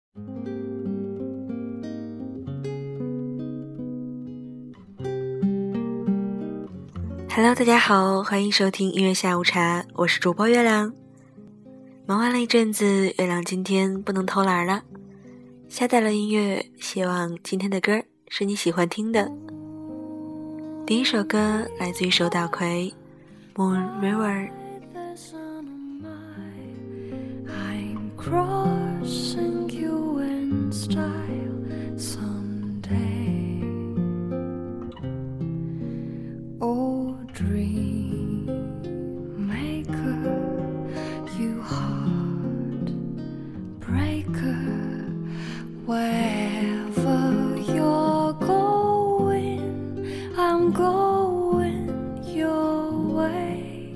Hello， 大家好，欢迎收听音乐下午茶，我是主播月亮。忙完了一阵子，月亮今天不能偷懒了，下载了音乐，希望今天的歌是你喜欢听的。第一首歌来自于手岛葵 Moon River。 Crossing you in style someday. Oh, dream maker, you heart breaker, wherever you're going, I'm going your way.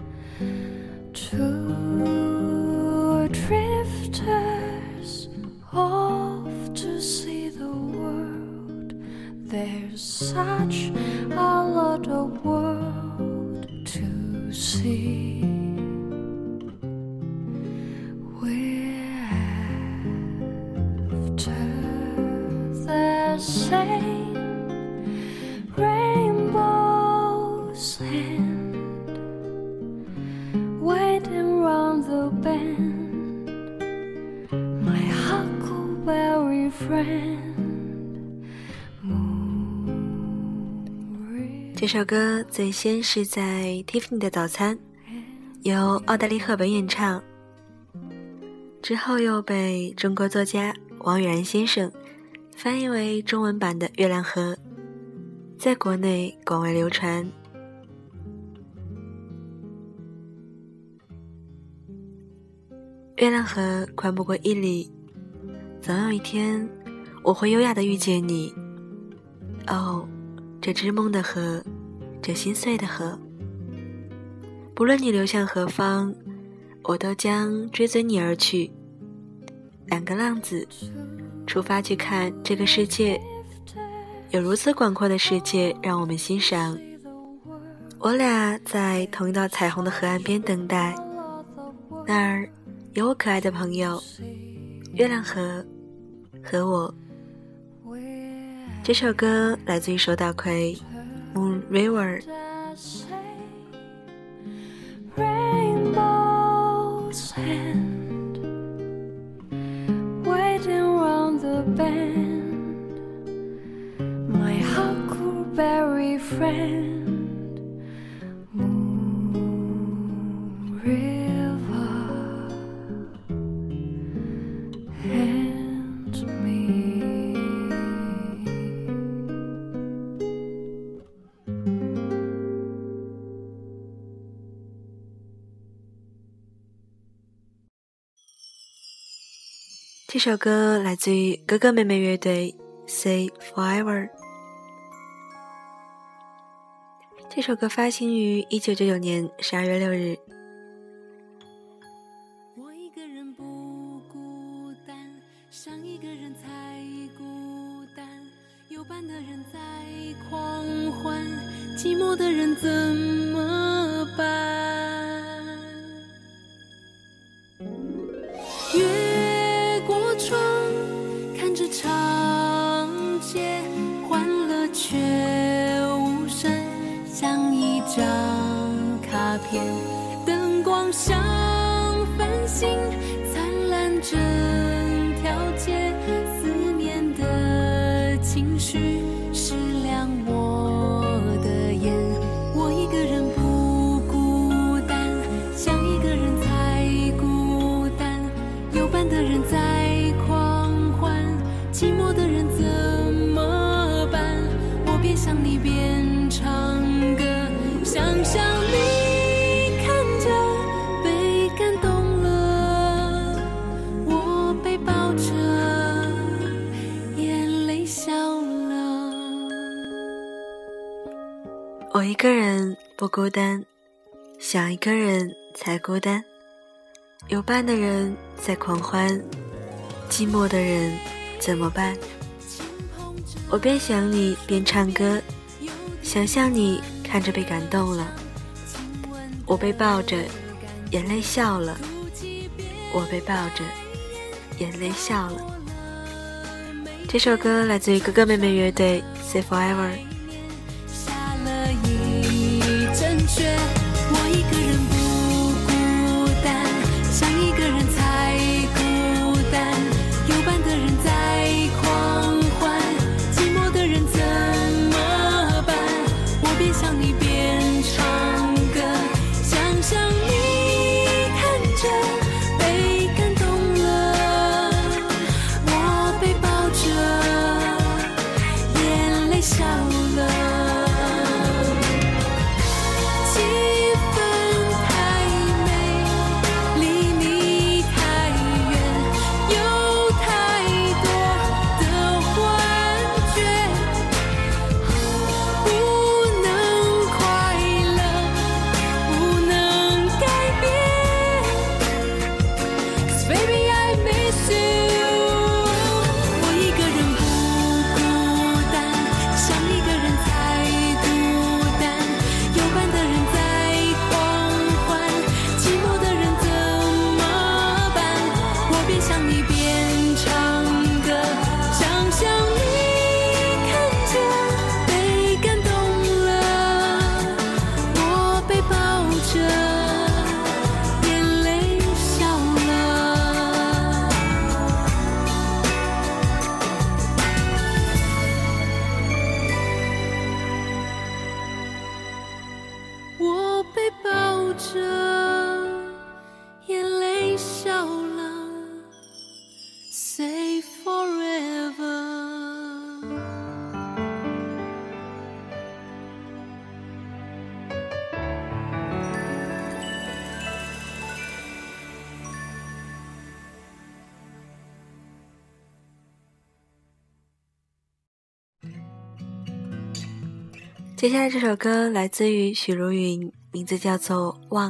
Two drifters off to see the world. There's such a lot of world to see. We're after the same rainbow's end, waiting round the bend, my huckleberry friend. 这首歌最先是在 Tiffany 的早餐由奥黛丽·赫本演唱，之后又被中国作家王宇然先生翻译为中文版的《月亮河》，在国内广为流传。月亮河宽不过1里，总有一天我会优雅地遇见你。哦，这织梦的河，这心碎的河，不论你流向何方，我都将追随你而去。两个浪子出发去看这个世界，有如此广阔的世界让我们欣赏。我俩在同一道彩虹的河岸边等待，那儿有我可爱的朋友月亮河和我。这首歌来自于手岛葵 Moon River。 Rainbow's end, waiting round the bend, my huckleberry friend, Moon River and me. 这首歌来自于哥哥妹妹乐队 Say Forever。 这首歌发行于1999年12月6日。 我一个人不孤单，伤一个人才孤单，有伴的人在狂欢，寂寞的人怎么办？越过窗，看着长街，欢乐却无声，像一张卡片，灯光像繁星，灿烂整条街，思念的情绪是亮我的眼。我一个人不孤单，像一个人才孤单，有伴的人在狂欢，寂寞的人怎么办？我边想你边唱歌，想象你看着被感动了，我被抱着眼泪笑了。 我一个人不孤单，想一个人才孤单，有伴的人在狂欢，寂寞的人怎么办？我边想你边唱歌，想象你看着被感动了，我被抱着眼泪笑了，我被抱着眼泪笑了。 这首歌来自于哥哥妹妹乐队 Say Forever。 下了一阵雪，我一个人不孤单，想一个人才孤单，有伴的人在狂欢，寂寞的人怎么办？我边想你边唱歌，想象你看着被感动了，我被抱着眼泪笑了。 接下来这首歌来自于许茹芸，名字叫做《忘》。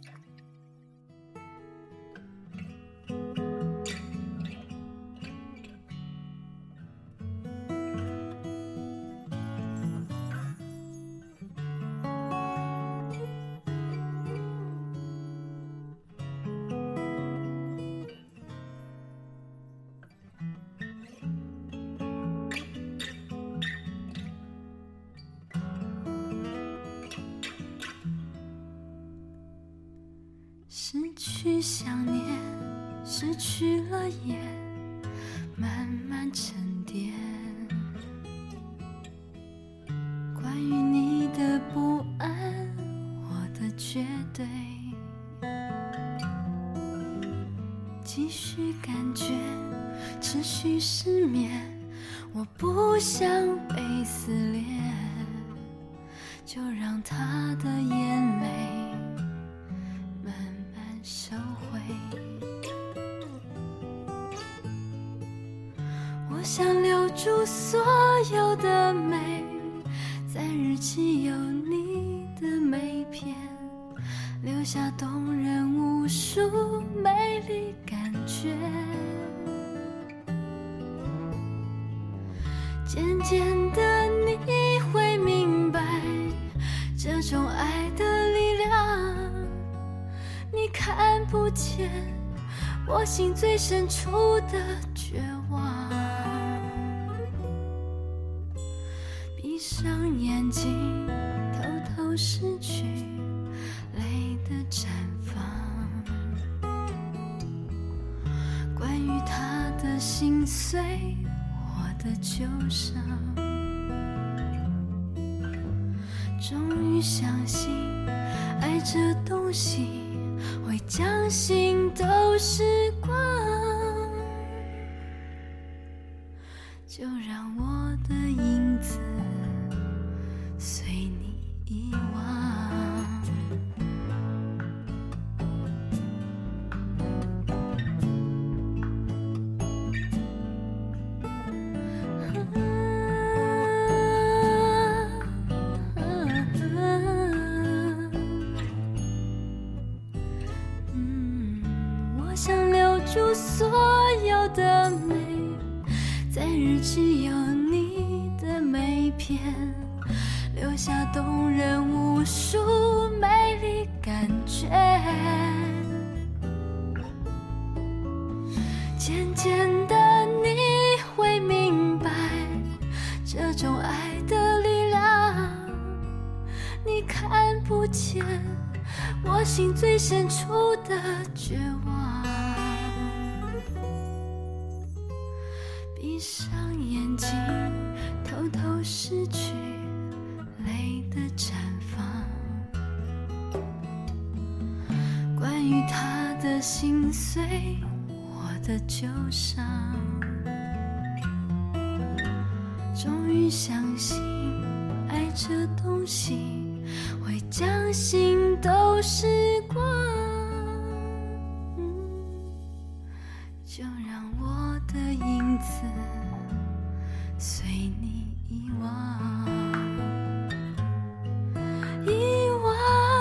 失去想念，失去了眼，慢慢沉淀。关于你的不安，我的绝对，继续感觉，持续失眠。我不想被撕裂，就让他的眼泪收回。我想留住所有的美，在日记有你的每篇，留下动人无数美丽感觉。渐渐的你会明白，这种爱的力量你看不见我心最深处的绝望。闭上眼睛，偷偷失去泪的绽放。关于他的心碎，我的忧伤，终于相信爱这东西会将心都时光，就让我的影子随你遗忘。我想留住所有的美，在日记有你的每篇，留下动人无数美丽感觉。渐渐的你会明白， 心最深处的绝望。闭上眼睛，偷偷失去泪的绽放。关于他的心碎，我的旧伤，终于相信爱这东西会将心都时光。就让我的影子随你遗忘，遗忘。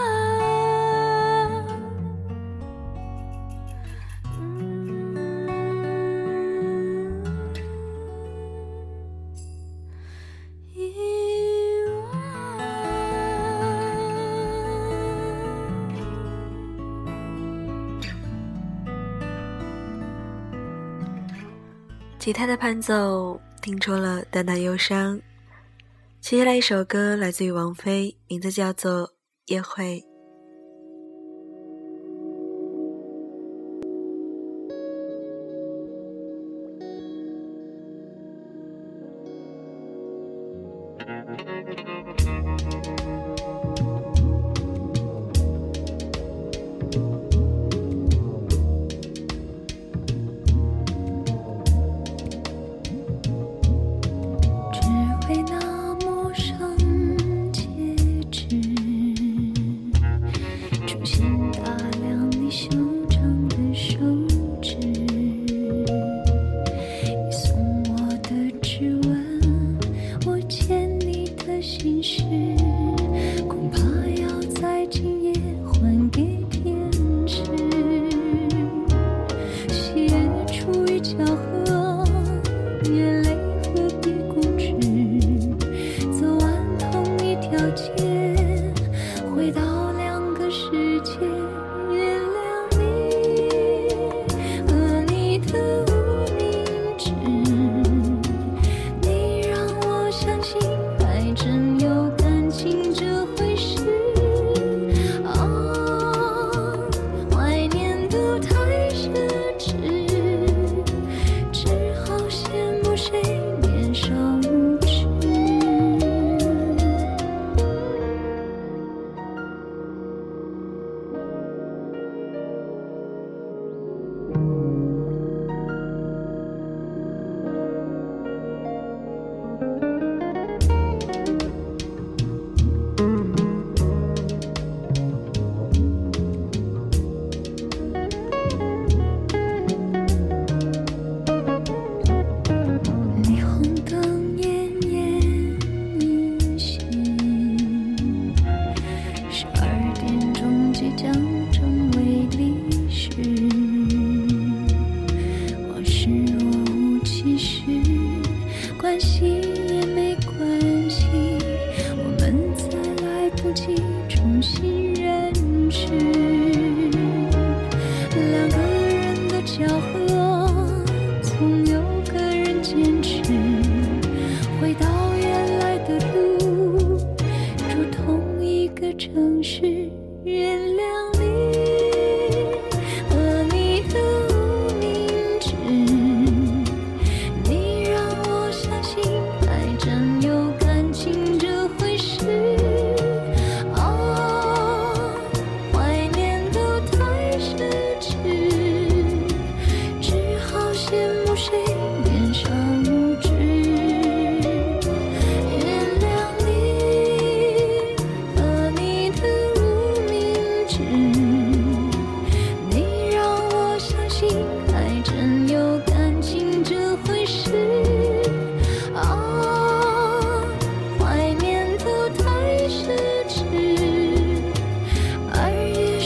吉他的伴奏听出了淡淡忧伤。接下来一首歌来自于王菲，名字叫做《夜会》。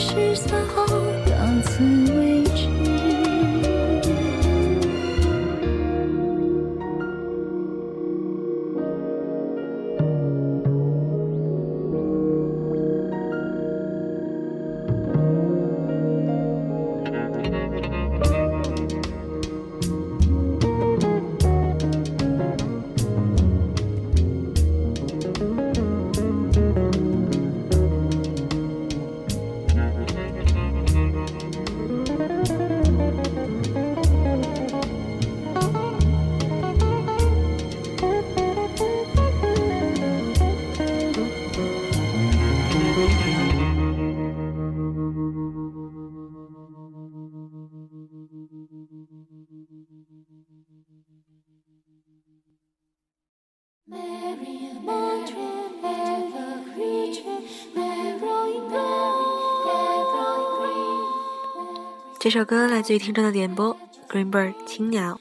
3号到此为止。 这首歌来自于听众的点播 Greenbird 青鸟。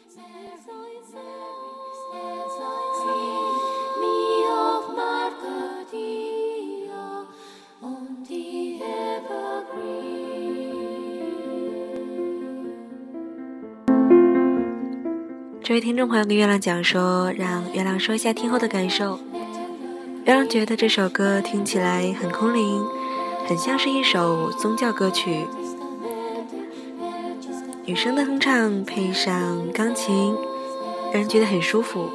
这位听众朋友跟月亮讲说，让月亮说一下听后的感受。月亮觉得这首歌听起来很空灵，很像是一首宗教歌曲，女生的哼唱配上钢琴，让人觉得很舒服。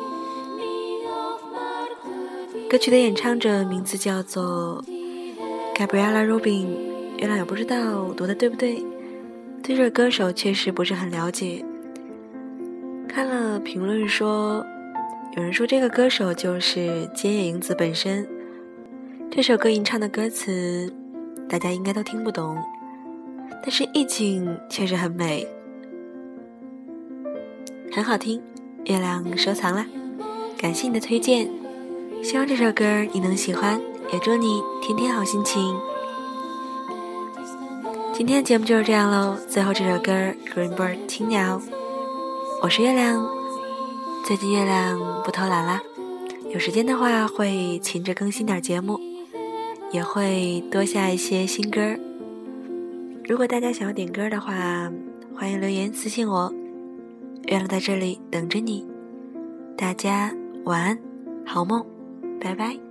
歌曲的演唱者名字叫做 Gabriella Rubin， 月亮也不知道读的对不对，对这个歌手确实不是很了解。看了评论说，有人说这个歌手就是菅野英子本身。这首歌吟唱的歌词大家应该都听不懂，但是意境确实很美，很好听，月亮收藏了，感谢你的推荐，希望这首歌你能喜欢，也祝你天天好心情。今天的节目就是这样咯，最后这首歌 Greenbird 青鸟，我是月亮。最近月亮不偷懒啦，有时间的话会勤着更新点节目，也会多下一些新歌。如果大家想要点歌的话，欢迎留言私信我，月亮在这里等着你。大家晚安，好梦，拜拜。